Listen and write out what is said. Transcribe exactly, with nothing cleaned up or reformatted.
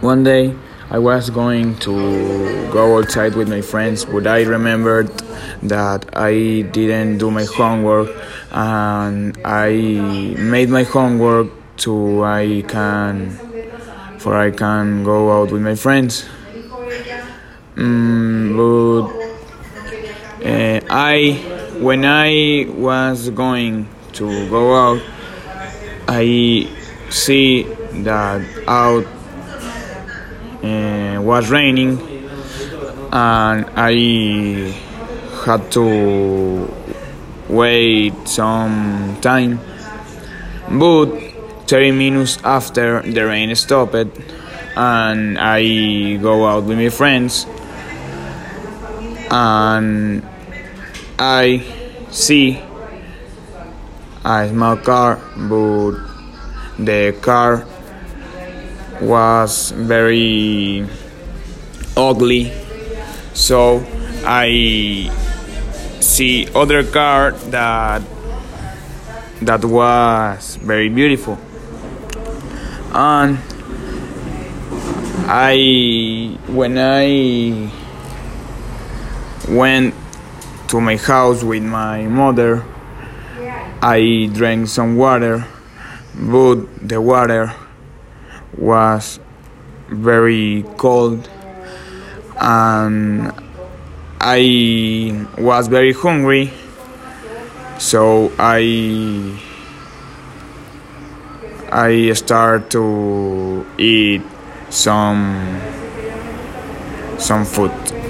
One day I was going to go outside with my friends, but I remembered that I didn't do my homework, and I made my homework to I can for I can go out with my friends. Mm, but uh, I when I was going to go out, I see that out uh, was raining, and I had to wait some time. But thirty minutes after, the rain stopped, and I go out with my friends, and I see a small car, but the car was very ugly. So I see other car that that was very beautiful, and I when I went to my house with my mother, I drank some water, but the water was very cold, and I was very hungry, so I I start to eat some some food.